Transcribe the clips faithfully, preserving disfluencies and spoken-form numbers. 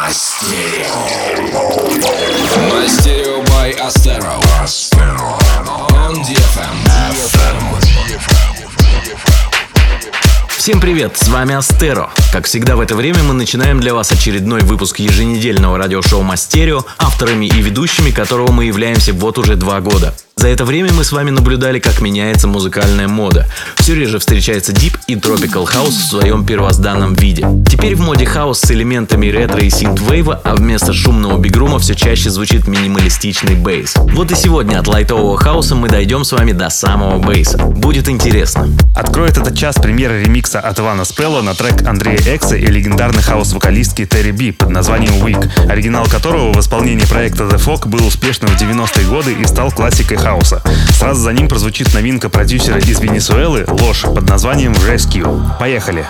Мастерио by Astero. On ди эф эм. Всем привет, с вами Астеро. Как всегда в это время мы начинаем для вас очередной выпуск еженедельного радиошоу Мастерио, авторами и ведущими которого мы являемся вот уже два года. За это время мы с вами наблюдали, как меняется музыкальная мода. Все реже встречается дип и тропикал хаус в своем первозданном виде. Теперь в моде хаус с элементами ретро и синт-вейва, а вместо шумного бигрума все чаще звучит минималистичный бейс. Вот и сегодня от лайтового хауса мы дойдем с вами до самого бейса. Будет интересно. Откроет этот час премьера ремикса от Ивана Спелло на трек Андрея Экса и легендарной хаус-вокалистки Терри Би под названием Weak, оригинал которого в исполнении проекта The Fog был успешным в девяностые годы и стал классикой хауса. Сразу за ним прозвучит новинка продюсера из Венесуэлы «Ложь» под названием Rescue. Поехали!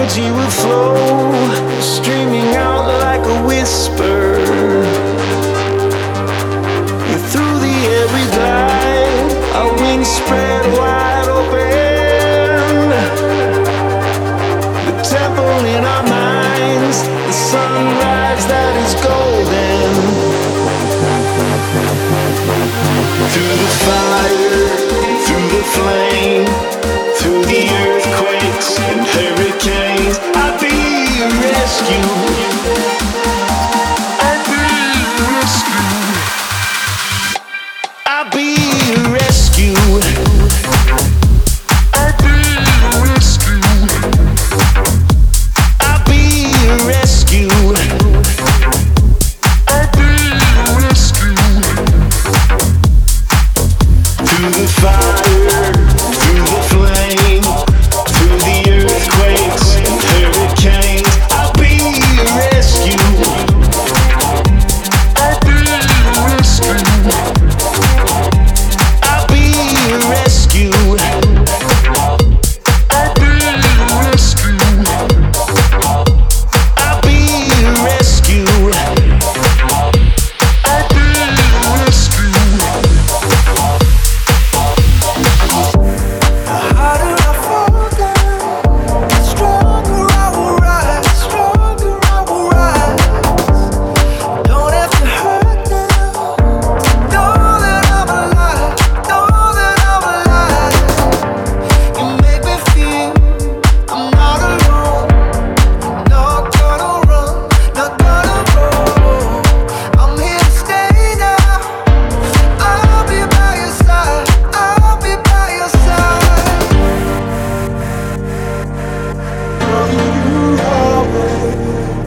energy will flow, streaming out like a whisper. Through the air we glide, our wings spread wide open. The temple in our minds, the sunrise that is golden. Through the fire, through the flame, through the earthquakes and hurricanes, I'll be your rescue. I'll be your rescue. I'll be your rescue. I'll be your rescue. I'll be your rescue. I'll be your rescue. Through the fire, through the flame, through the earthquakes and hurricanes, I'll be your rescue. I'll be your rescue. I'll be your rescue. I'll be your rescue. I'll be your rescue. I'll be your rescue. The harder I fall down, the stronger I will rise, stronger I will rise. Don't have to hurt now. Know that I'm alive, know that I'm alive. You make me feel I'm not alone. Not gonna run, not gonna roll. I'm here to stay now. I'll be by your side, I'll be by your side. Loving you always.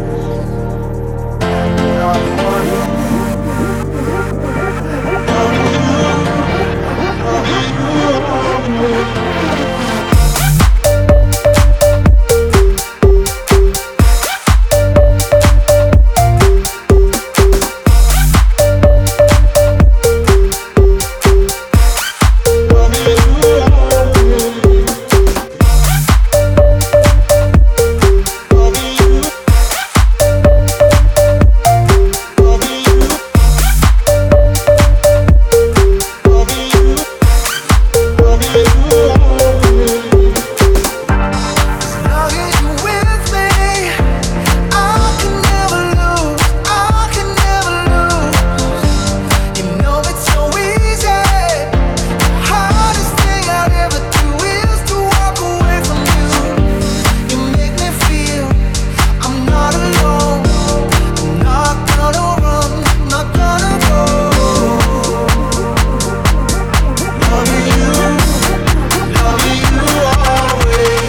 Long as you're with me, I can never lose, I can never lose. You know it's so easy. The hardest thing I'd ever do is to walk away from you. You make me feel I'm not alone. I'm not gonna run, not gonna go. Loving you, loving you always.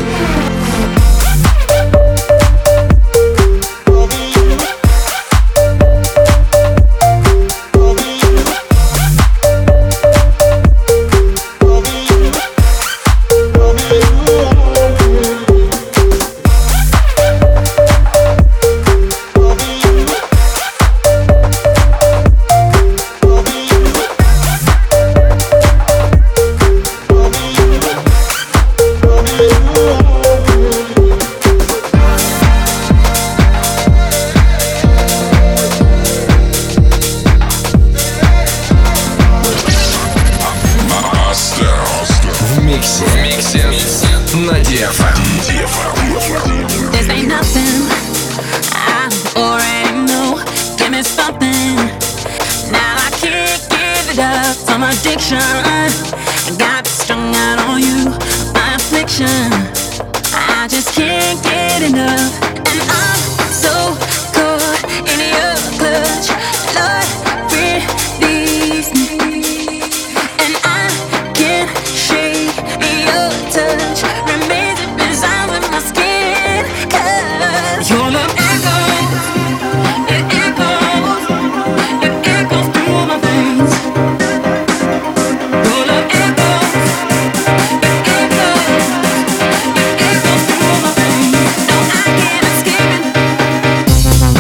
В миксе. В миксе. На ди эф эм. This ain't nothing I already know. Give me something. Now I can't give it up. Some addiction. I got strung out on you. My affliction. I just can't get enough. And I'm so caught in your clutch. Lord, release me. And I can't shake your touch. Remains it resides with my skin. 'Cause your love echoes, it echoes, it echoes through my veins. Your love echoes, it echoes, it echoes through my veins. No, I can't escape it.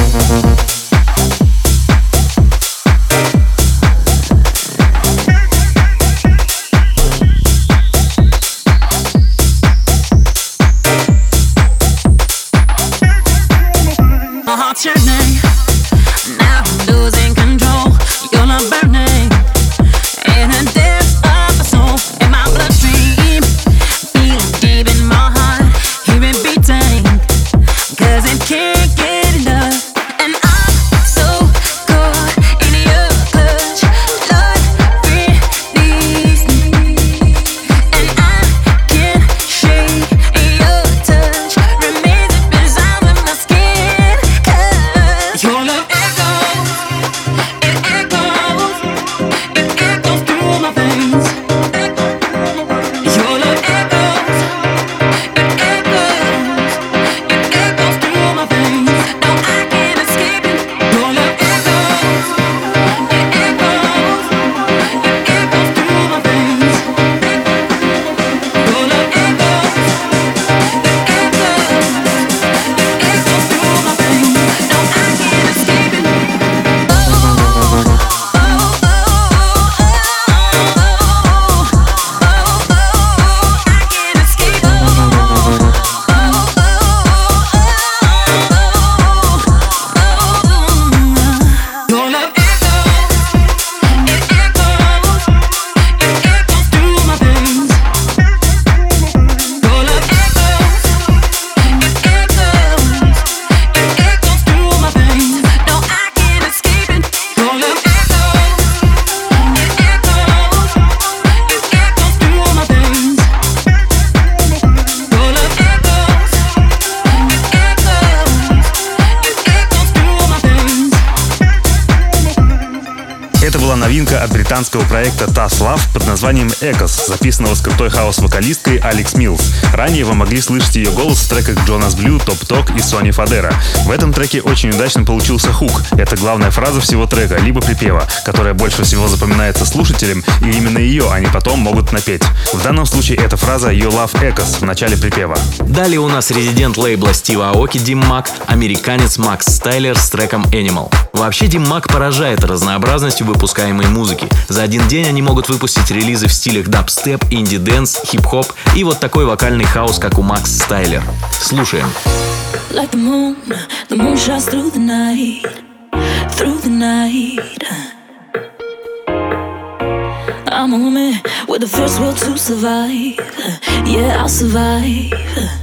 Новинка от британского проекта Tough Love под названием Echoes, записанного с крутой хаус-вокалисткой Алекс Милс. Ранее вы могли слышать ее голос в треках Jonas Blue, Top Talk и Сони Фадера. В этом треке очень удачно получился хук. Это главная фраза всего трека, либо припева, которая больше всего запоминается слушателям, и именно ее они потом могут напеть. В данном случае эта фраза You Love Echoes в начале припева. Далее у нас резидент лейбла Стива Аоки Дим Мак, американец Макс Стайлер с треком Animal. Вообще Дим Мак поражает разнообразностью выпускаемой музыки. За один день они могут выпустить релизы в стилях дабстеп, инди-дэнс, хип-хоп и вот такой вокальный хаос, как у Макс Стайлер. Слушаем. Like the moon, the moon shines through the night, through the night. I'm a woman with the first will to survive. Yeah, I'll survive.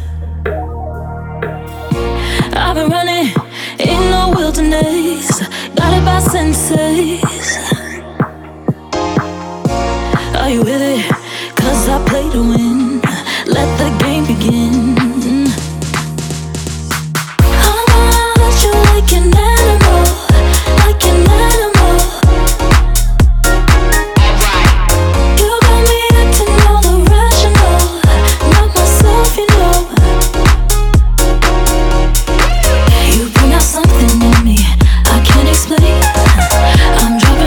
I've been running in the wilderness, guided by senses. Are you with it? Cause I play to win. Let the game begin. I'm gonna hurt you like an animal, like an animal. You got me acting all irrational, not myself, you know. You bring out something in me I can't explain. I'm dropping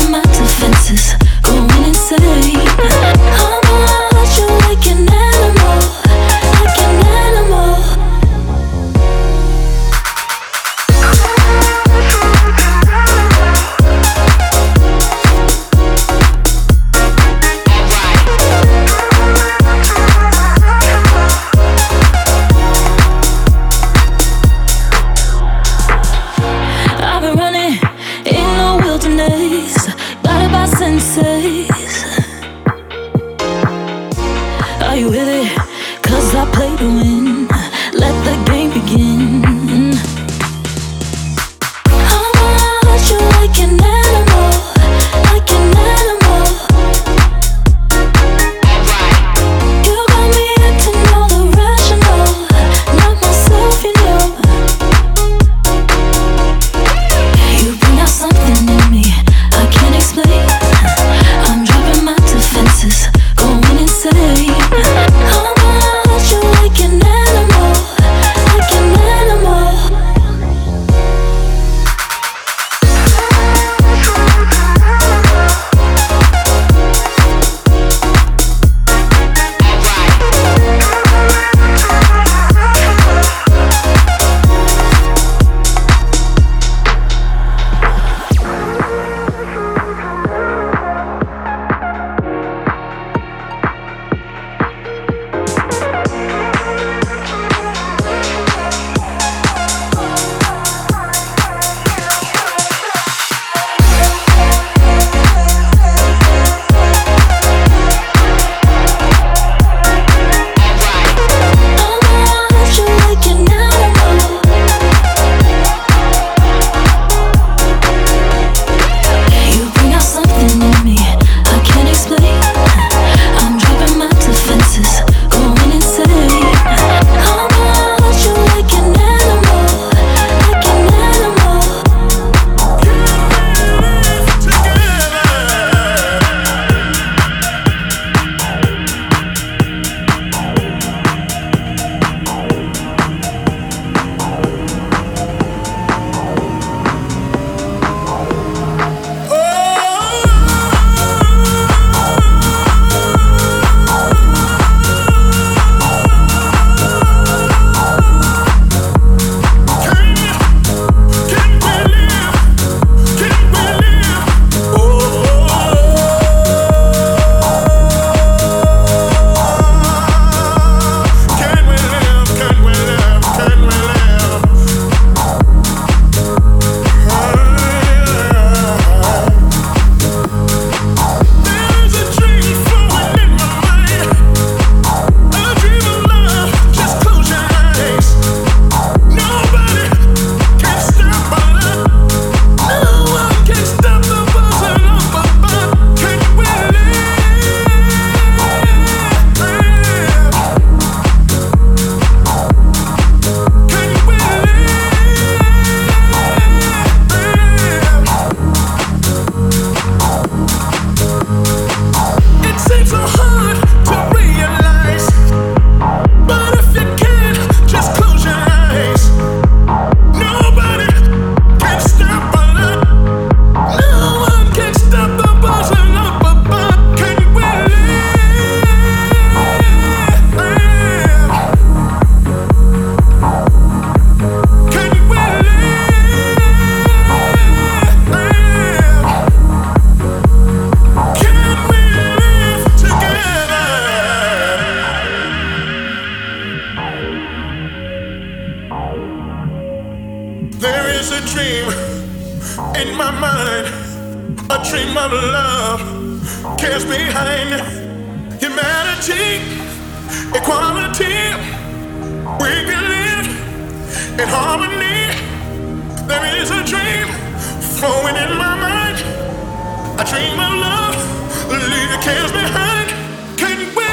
There is a dream in my mind, a dream of love, cares behind humanity, equality. We can live in harmony. There is a dream flowing in my mind, a dream of love, leave the cares behind. Can we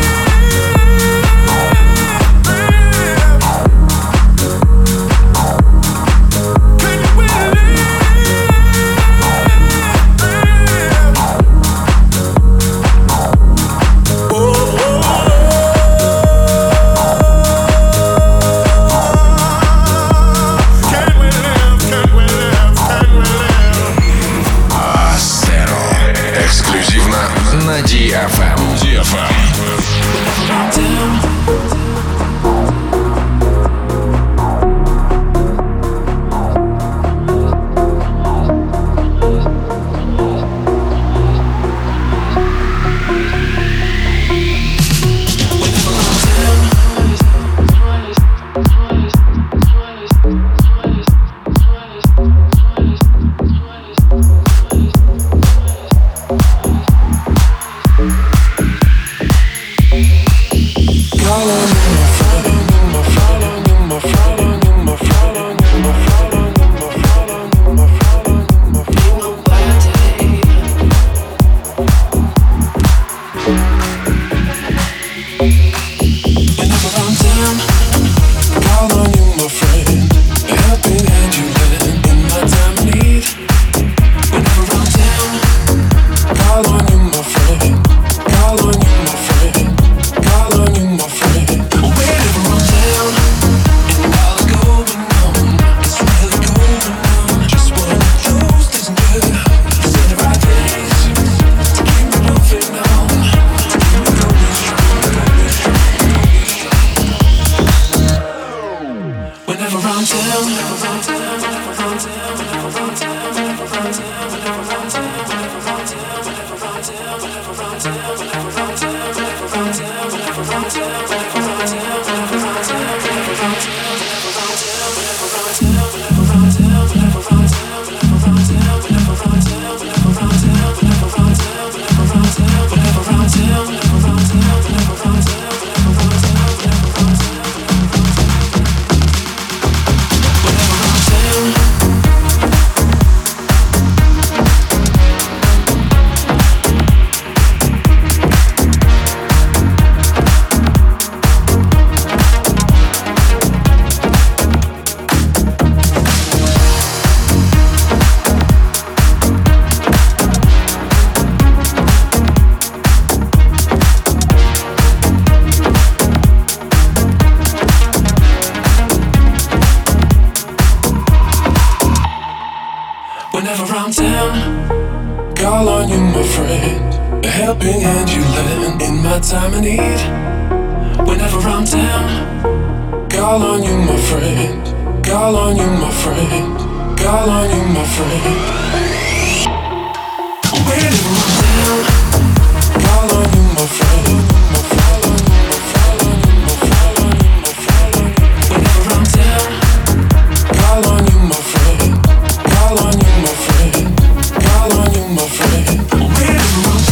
на ди эф эм. ди эф эм. Whenever I'm down, call on you, my friend. A helping hand you lend in my time of need. Whenever I'm down, call on you, my friend. Call on you, my friend. Call on you, my friend. Whenever I'm down, call on you, my friend. Whenever I'm down, call on you, my friend. Call on you, my friend. Call on you, my friend. Whenever I'm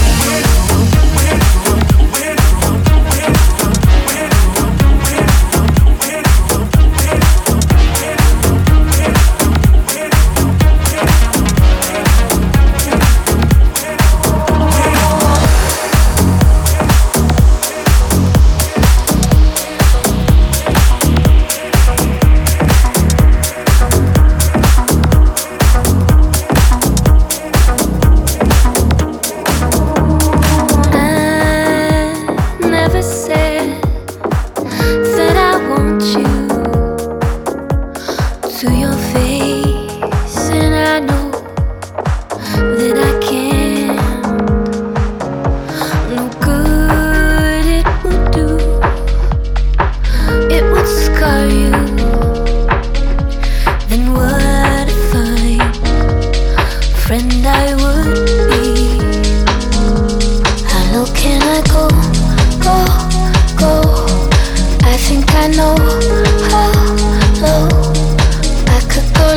I know how low I could go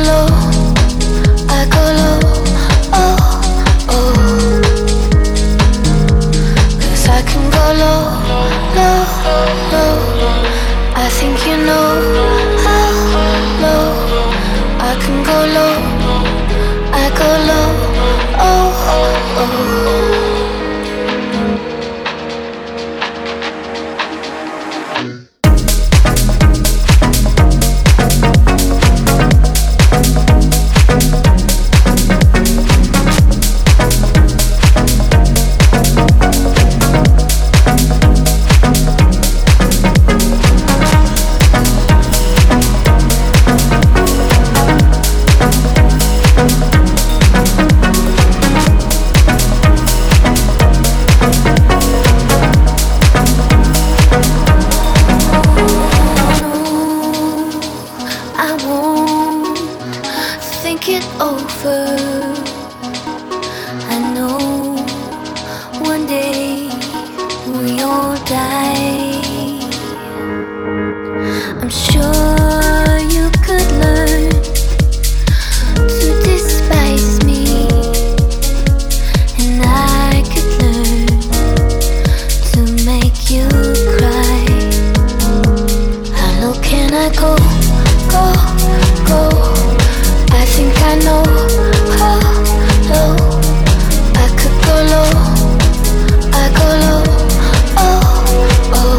home, think it over. I know one day we all die. I'm sure you could learn to despise me, and I could learn to make you cry. How low can I go, go, go? I think I know how low I could go low. I go low, oh, oh.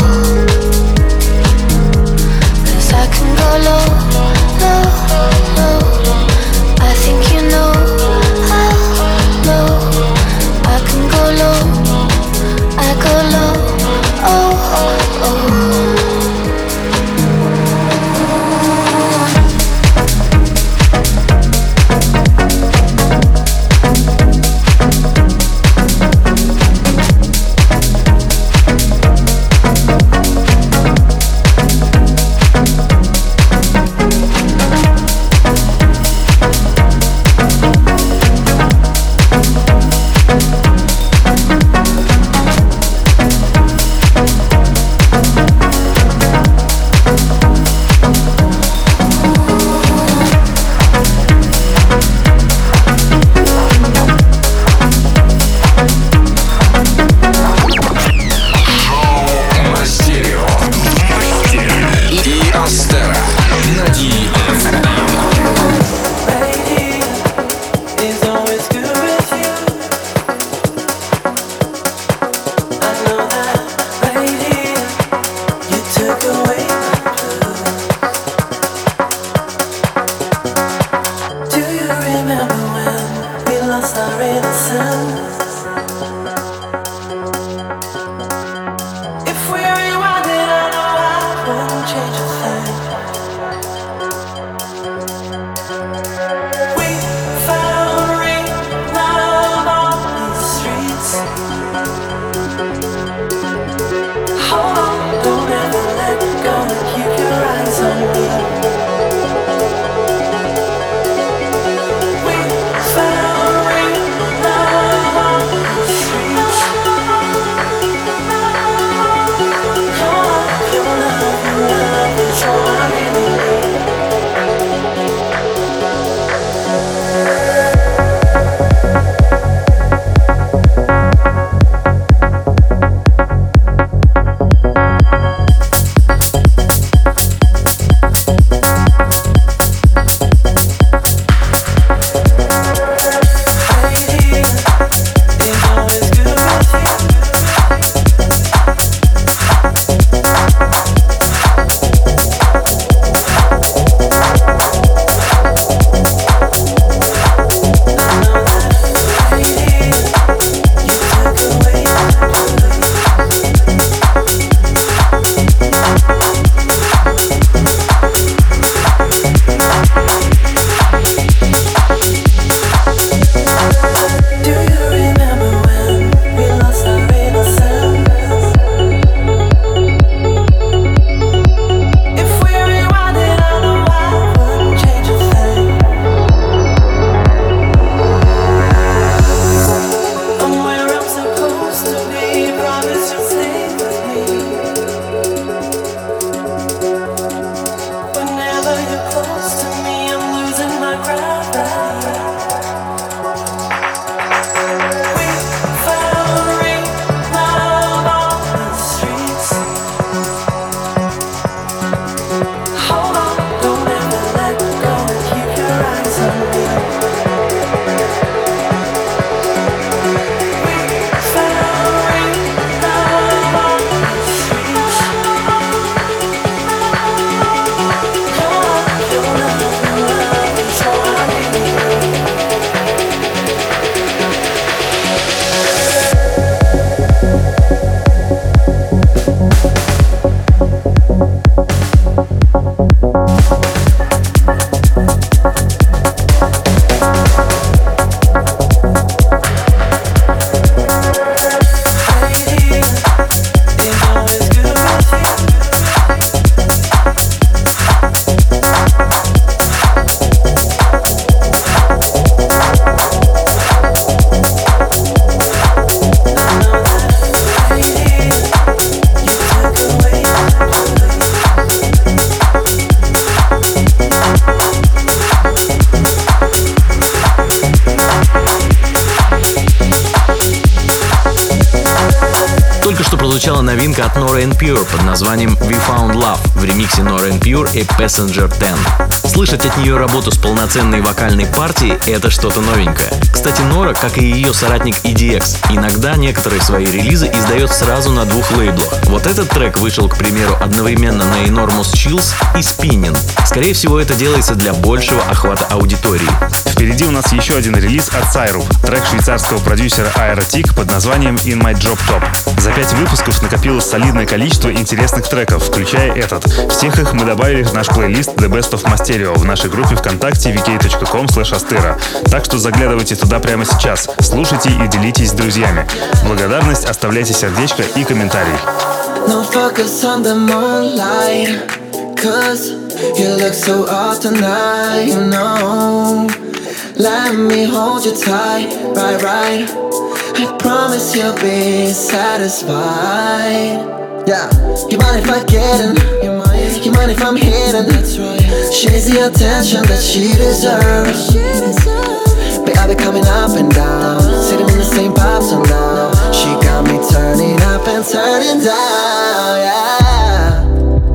прозвучала новинка от Nora En Pure под названием We Found Love в ремиксе Nora En Pure и Passenger десять. Слышать от нее работу с полноценной вокальной партией — это что-то новенькое. Кстати, Нора, как и ее соратник и ди экс, иногда некоторые свои релизы издает сразу на двух лейблах. Вот этот трек вышел, к примеру, одновременно на Enormous Chills и Spinning. Скорее всего, это делается для большего охвата аудитории. Впереди у нас еще один релиз от Syrup, трек швейцарского продюсера Aerotic под названием In My Drop Top. За пять выпусков накопилось солидное количество интересных треков, включая этот. Всех их мы добавили в наш плейлист The Best of Masterio в нашей группе ВКонтакте ви кей точка ком слэш астера. Так что заглядывайте туда прямо сейчас, слушайте и делитесь с друзьями. Благодарность, оставляйте сердечко и комментарий. No focus on the moonlight, cause you look so off tonight, you know. Let me hold you tight, right, right. I promise you'll be satisfied. Yeah, you mind if I get in? You mind, you mind if I'm hidden? That's right. She needs the attention that she deserves. But I'll be coming up and down, sitting in the same pub, so now she got me turning up and turning down, yeah.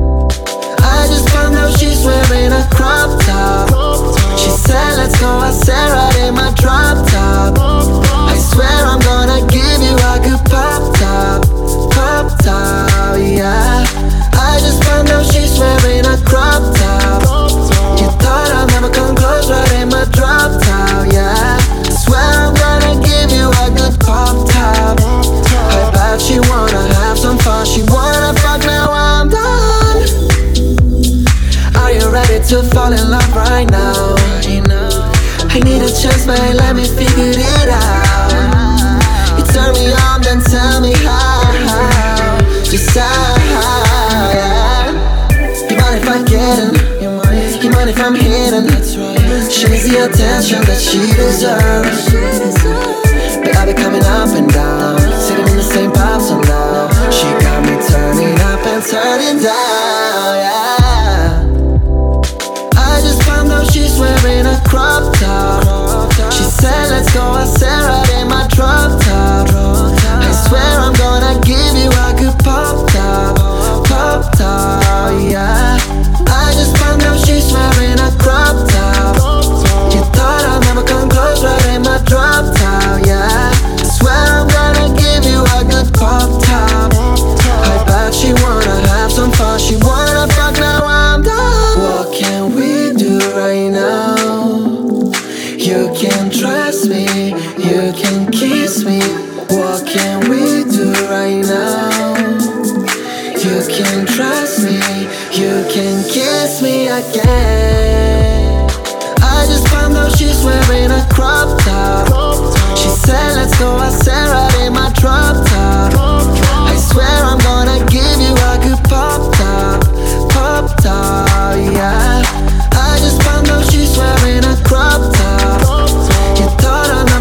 I just found out she's wearing a crop top. She said let's go, I said right in my drop top. I swear I'm gonna give you a good pop top, pop top, yeah. I just found out she's wearing a crop top. You thought I'd never come close, right in my drop top, yeah. Swear I'm gonna give you a good pop top. I bet she wanna have some fun, she wanna fuck, now I'm done. Are you ready to fall in love right now? I need a chance, man, let me figure it out. You turn me on, then tell me how. Just how, yeah. You mind if I get in? You mind, you mind if I'm hidden? That's right. She needs the attention that she deserves. But I'll be coming up and down, sitting in the same pub, so now she got me turning up and turning down, yeah. I just found out she's wearing a crop top. She said let's go, I said right in my drop top. I swear I'm gonna give you a good pop top, pop top, yeah. I just found out she's wearing a crop top. You thought I'd never come close, right in my drop top, yeah. Swear I'm gonna give you a good pop top. I bet she wanna have some fun, she wanna fuck, now I'm done. What can we do right now? You can trust me, you can kiss me. What can we do right now? You can trust me, you can kiss me again. I just found out she's wearing a crop top. She said let's go, I said right in my drop top. I swear I'm gonna give you a good pop top, pop top, yeah. I just found out she's wearing a crop top. You thought I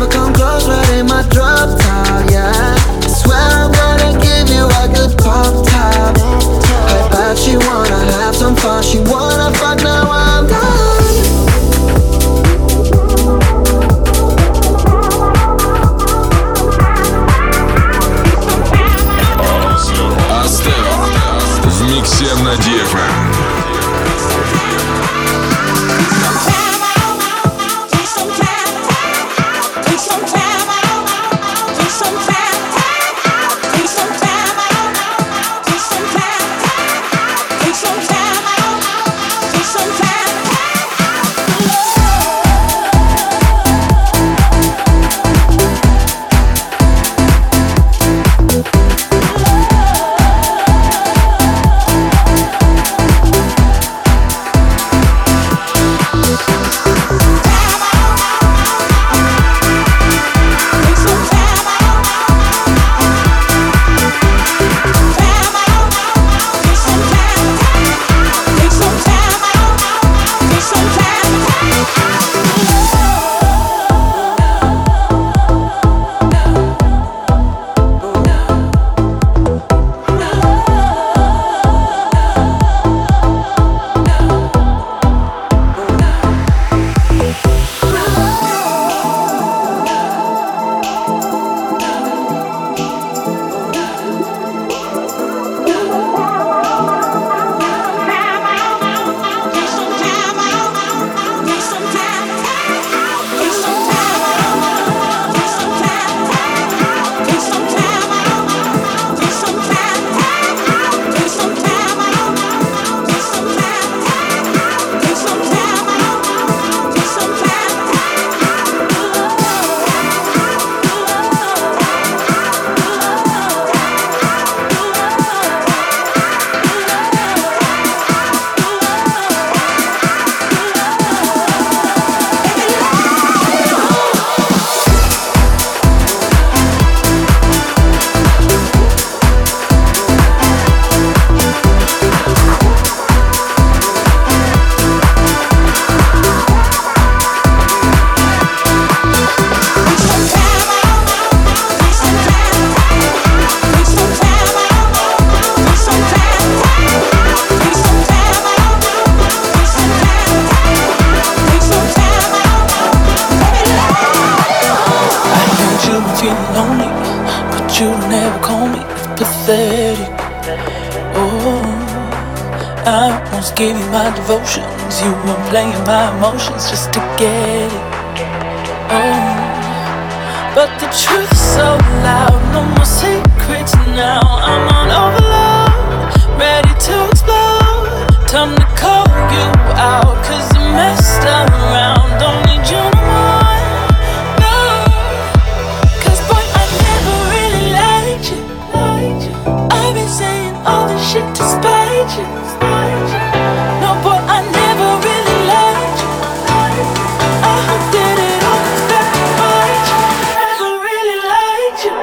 pathetic. Oh, I once gave you my devotions. You were playing my emotions just to get it. Oh, but the truth is so loud. No more secrets now. I'm on overload, ready to explode. Time to call you out, cause you messed around. Don't need you no more, no. Cause boy, I never really liked you. I've been saying all this shit to spite you. No boy, I never really liked you. I did it all to spite you. Never really liked you.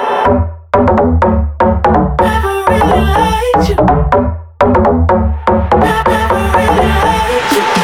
Never really liked you. Never really liked you.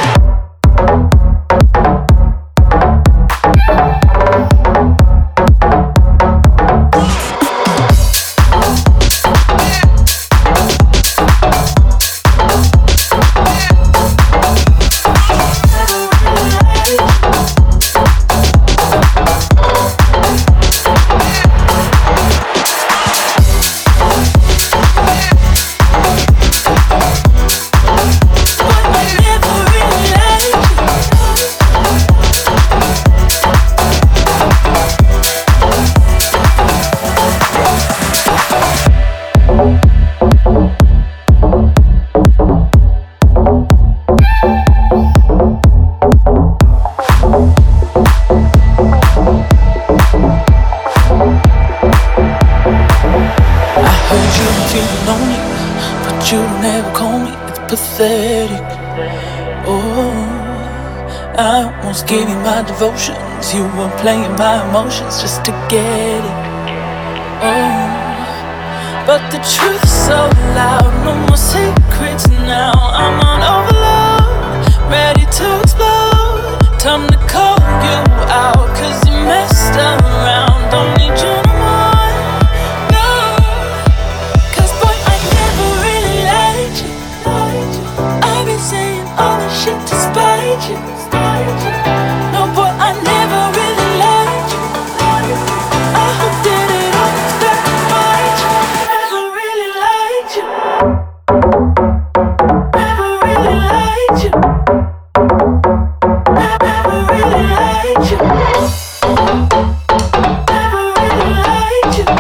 Pathetic. Oh, I once gave you my devotions. You were playing my emotions just to get it. Oh, but the truth is so loud. No more secrets now. I'm on overload, ready to explode. Time to call you out, cause you messed around. Don't need you no more, no. Cause boy, I never really liked you. I've been saying all this shit to spite you. No boy, I never really liked you. I did it all to spite you. Never really liked you. Never really liked you. Never really liked you. Never really liked you.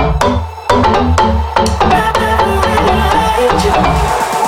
Never really liked you.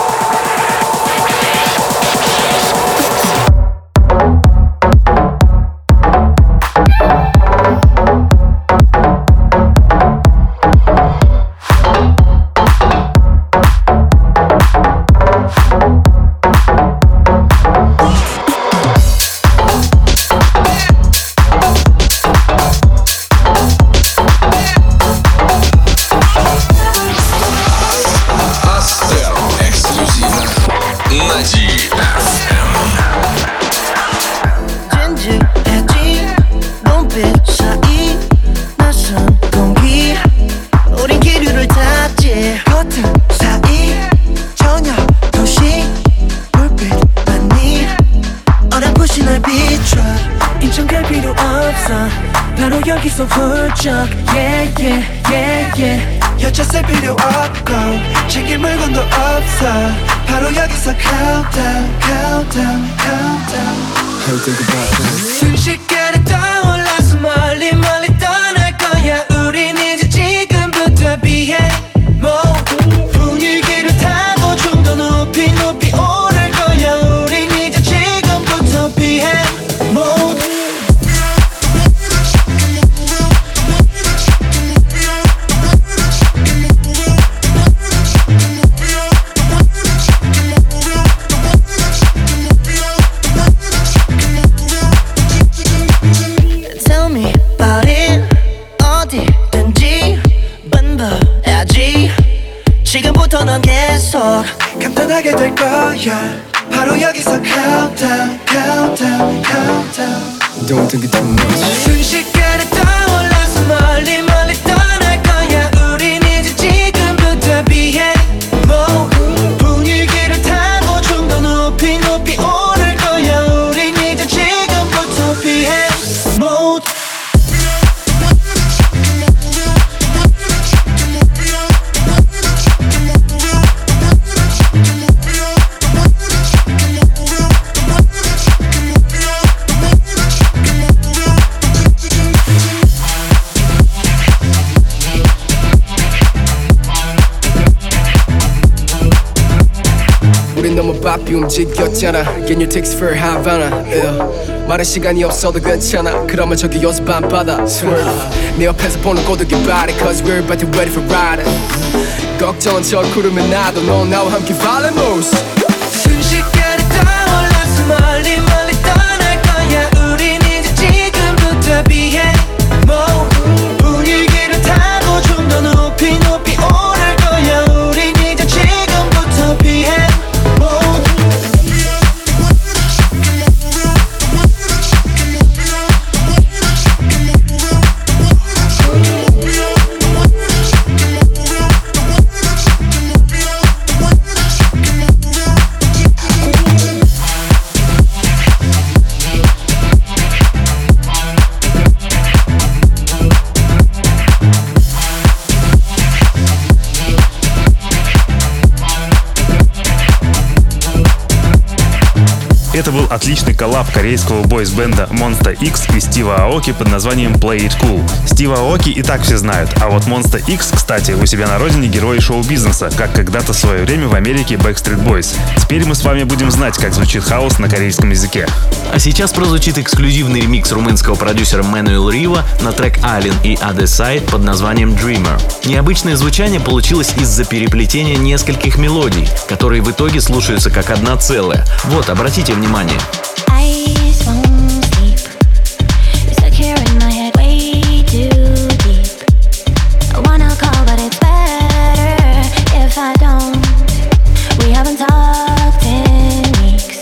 Yeah, yeah, yeah, yeah. 여차 쓸 필요 없고 챙길 물건도 없어. 바로 여기서 countdown, countdown, countdown. How you think about that? 순식간에 떠올라서 멀리 멀리 떠날 거야. 우린 이제 지금부터 비해 뭐 분위기를 타고 좀 더 높이 높이 오를 거야. 우린 이제 지금부터 비해 뭐 지금부터 넌 계속 간단하게 될 거야. 바로 여기서 countdown, countdown, countdown. Don't think it too much. 순식간에 떠올라서 멀리 멀리 떠날 거야. 우린 이제 지금부터 비해 뭐 분위기를 타고 좀 더 높이 높이 오를 거야. 우린 이제 지금부터 비해 뭐 바람잡이 움직였잖아. Get your tickets for Havana. yeah. 말할 시간이 없어도 괜찮아. 그러면 저기 요새 밤바다. Swerve. 내 옆에서 보는 고독의 body. Cause we're about to ready for riding. 걱정은 저 구름에 나도 너 나와 함께 violent moves. 순식간에 떠올라서 멀리 멀리 떠날 거야. 우린 이제 지금부터 비해 뭐 분위기를 타고 좀 더 높이 높이 오를 거야. 우린 이제 지금부터 비해 뭐 Это был отличный коллаб корейского бойс-бенда Monsta X и Стива Аоки под названием Play It Cool. Стива Аоки и так все знают, а вот Monsta X, кстати, у себя на родине герои шоу-бизнеса, как когда-то в свое время в Америке Backstreet Boys. Теперь мы с вами будем знать, как звучит хаос на корейском языке. А сейчас прозвучит эксклюзивный ремикс румынского продюсера Мануэл Рива на трек Alien и Other Side под названием Dreamer. Необычное звучание получилось из-за переплетения нескольких мелодий, которые в итоге слушаются как одна целая. Вот, обратите внимание. Eyes won't sleep. You're stuck here in my head way too deep. I wanna call, but it's better if I don't. We haven't talked in weeks.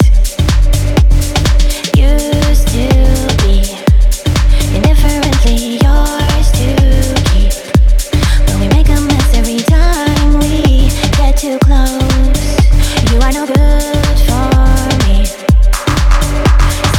Used to be indifferently yours to keep. But we make a mess every time we get too close. You are no good for me.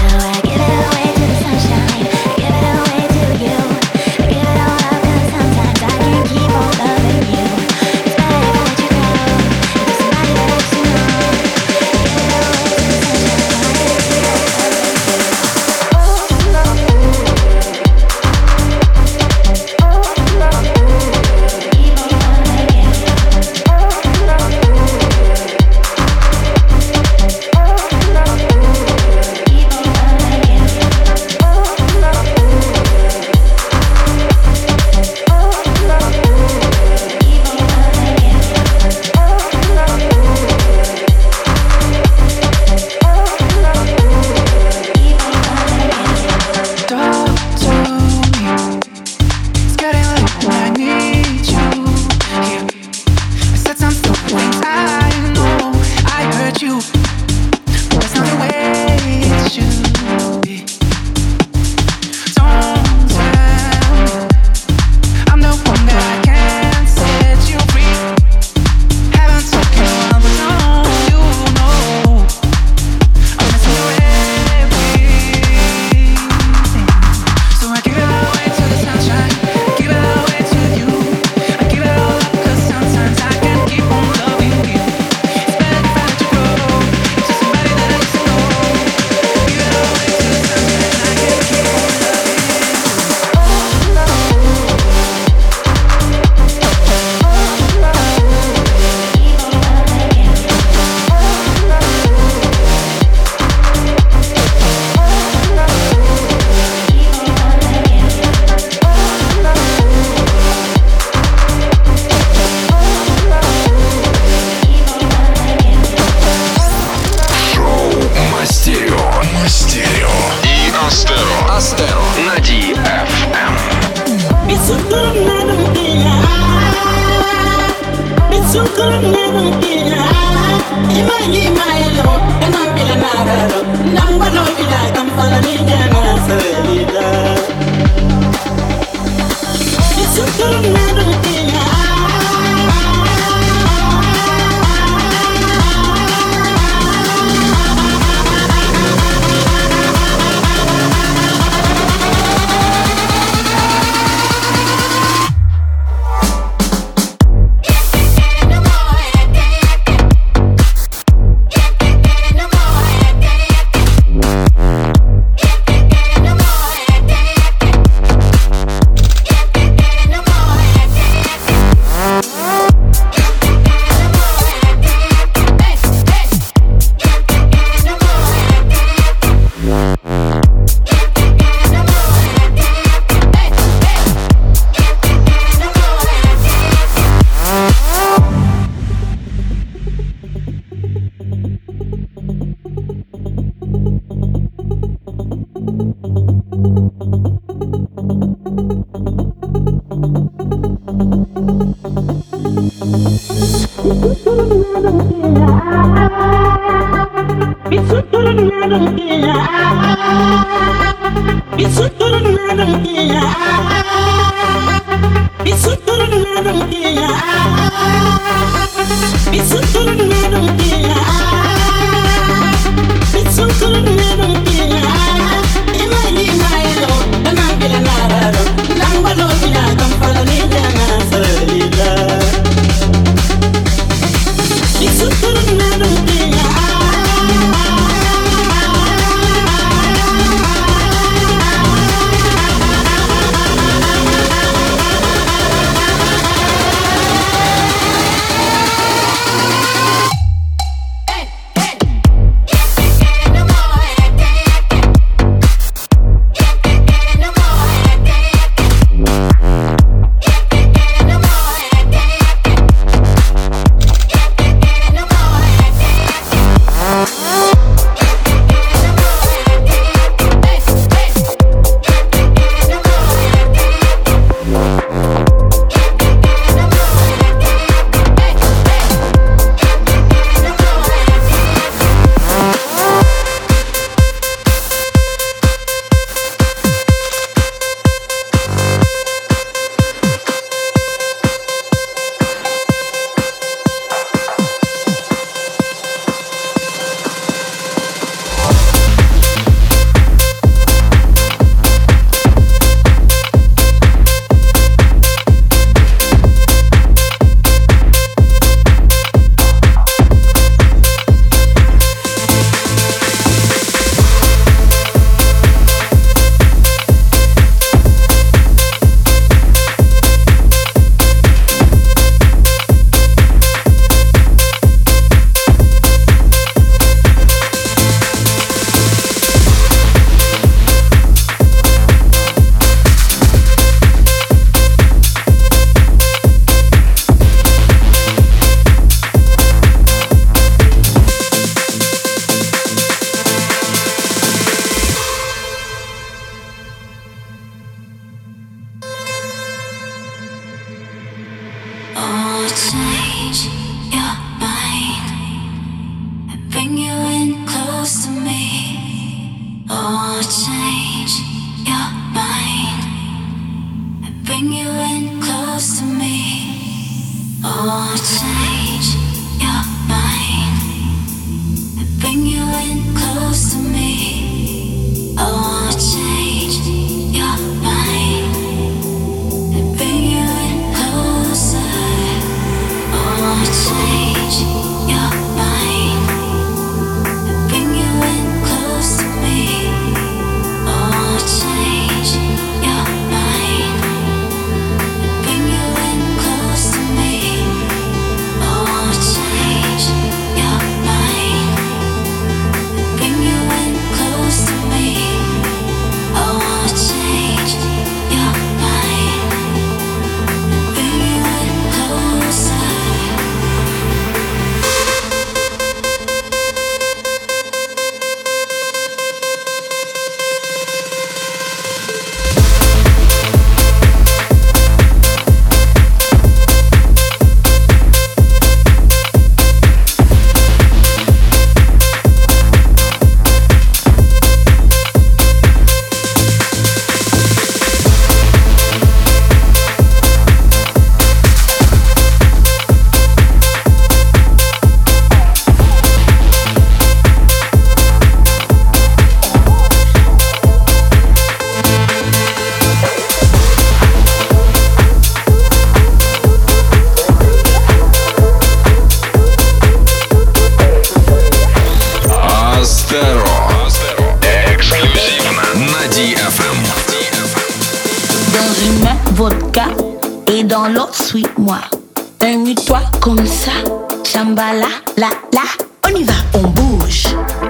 ди эф эм. Dans une main, vodka et dans l'autre, suis-moi. Amuse-toi comme ça, chambala, la, la, on y va, on bouge.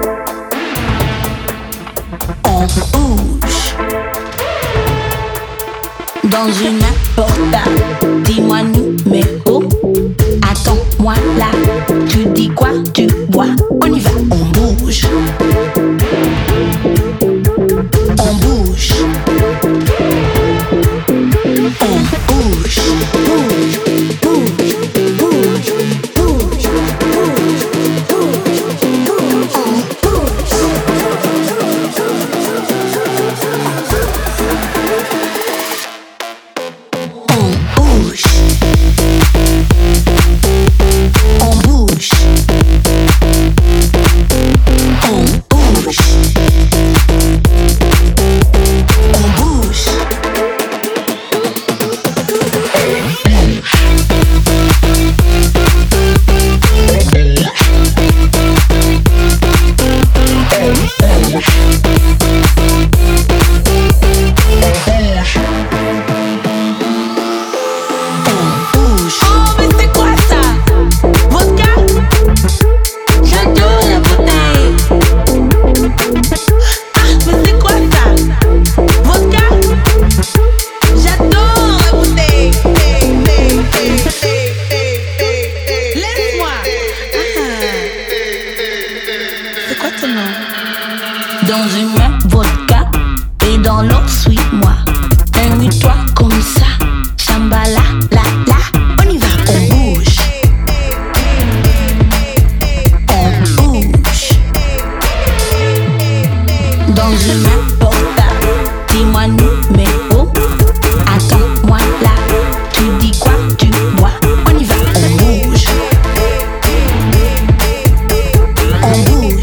On bouge. Dans une main, portable, dis-moi numéro. Attends-moi là, tu dis quoi, tu bois, on y va, on bouge. On bouge. On bouge, bouge, bouge, bouge, bouge, bouge, bouge, on bouge. On bouge. On bouge. On bouge. On bouge. Dans une main, vodka et dans l'autre, suis-moi. Amuse-toi comme ça, chambala, la, la, on y va, on bouge. On bouge. Dans une main, portable, dis-moi numéro. Attends-moi là, tu dis quoi, tu bois, on y va, on bouge. On bouge.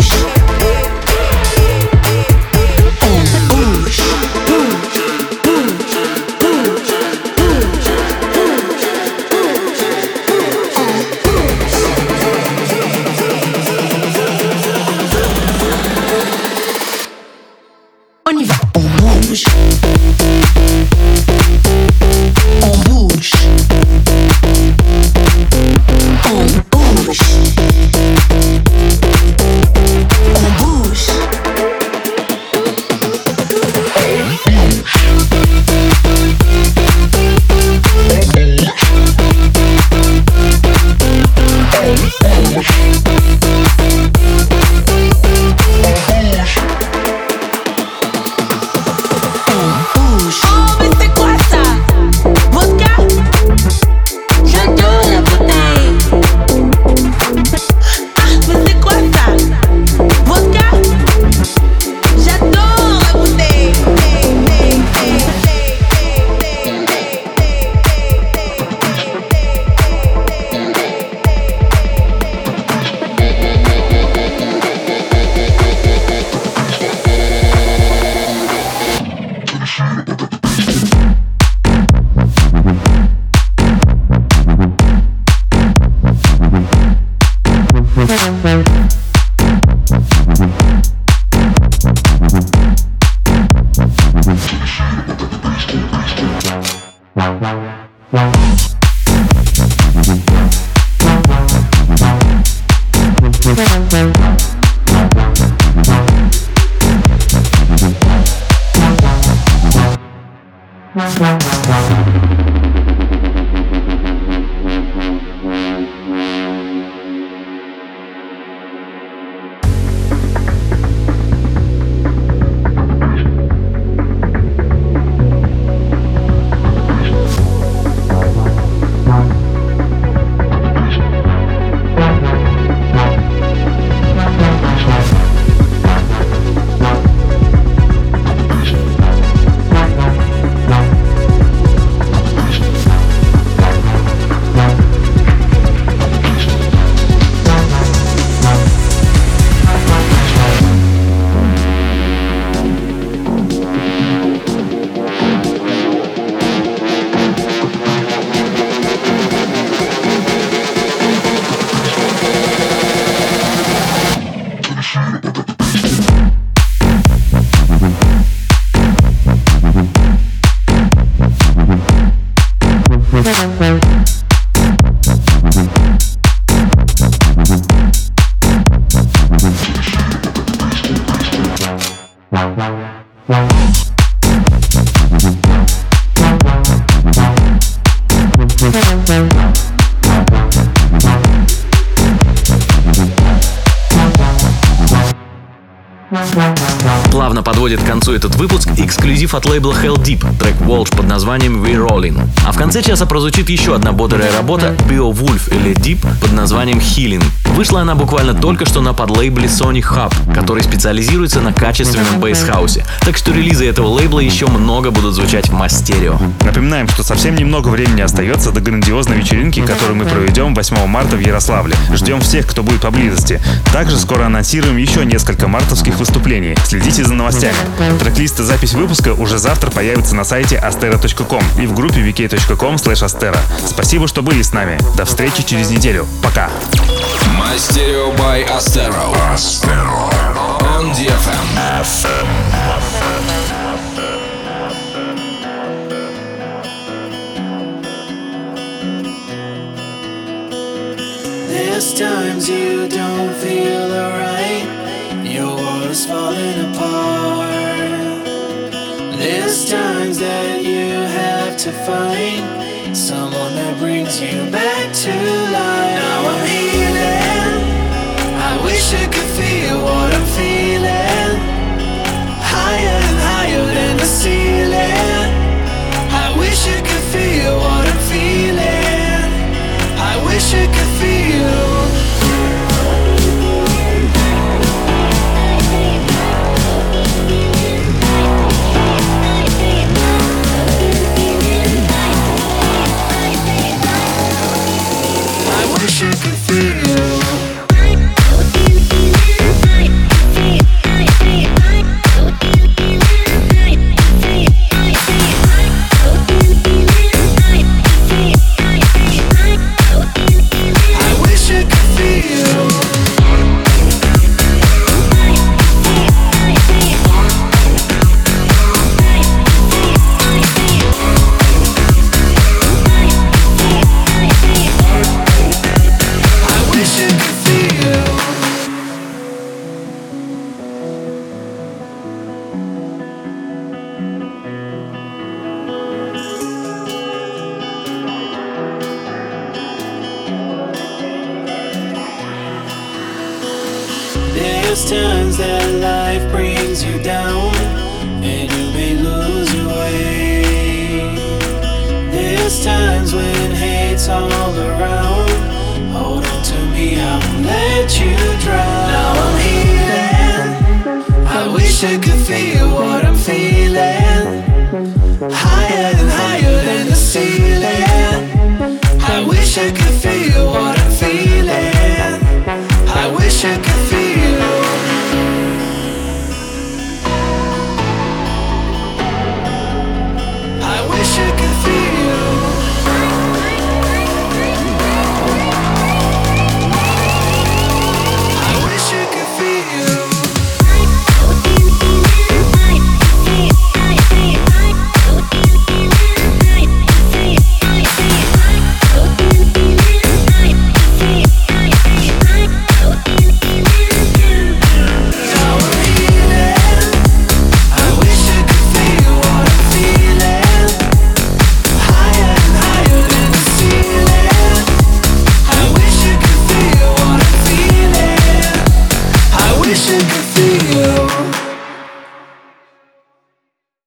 On y va, on bouge. On bouge. On bouge. On bouge. подводит к концу этот выпуск эксклюзив от лейбла Hell Deep, трек Walsh под названием We're Rolling. А в конце часа прозвучит еще одна бодрая работа Beowulf или Deep под названием Healing. Вышла она буквально только что на подлейбле Sony Hub, который специализируется на качественном бейс-хаусе. Так что релизы этого лейбла еще много будут звучать в Мастерио. Напоминаем, что совсем немного времени остается до грандиозной вечеринки, которую мы проведем восьмого марта в Ярославле. Ждем всех, кто будет поблизости. Также скоро анонсируем еще несколько мартовских выступлений. Следите за новостями. Трек-лист и запись выпуска уже завтра появится на сайте astero точка ком и в группе ви кей точка ком слэш astero. Спасибо, что были с нами. До встречи через неделю. Пока. Мастерио by Astero. Astero. On ди эф эм. There's times you don't feel alright, your world's falling apart. There's times that you have to find someone that brings you back to life. Now I'm healing, I wish I could feel what I'm feeling. Higher and higher than the ceiling, I wish I could feel what I'm feeling. I wish I could feel. I wish I could feel. There's times that life brings you down and you may lose your way. There's times when hate's all around. Hold on to me, I won't let you drown. Now I'm healing, I wish I could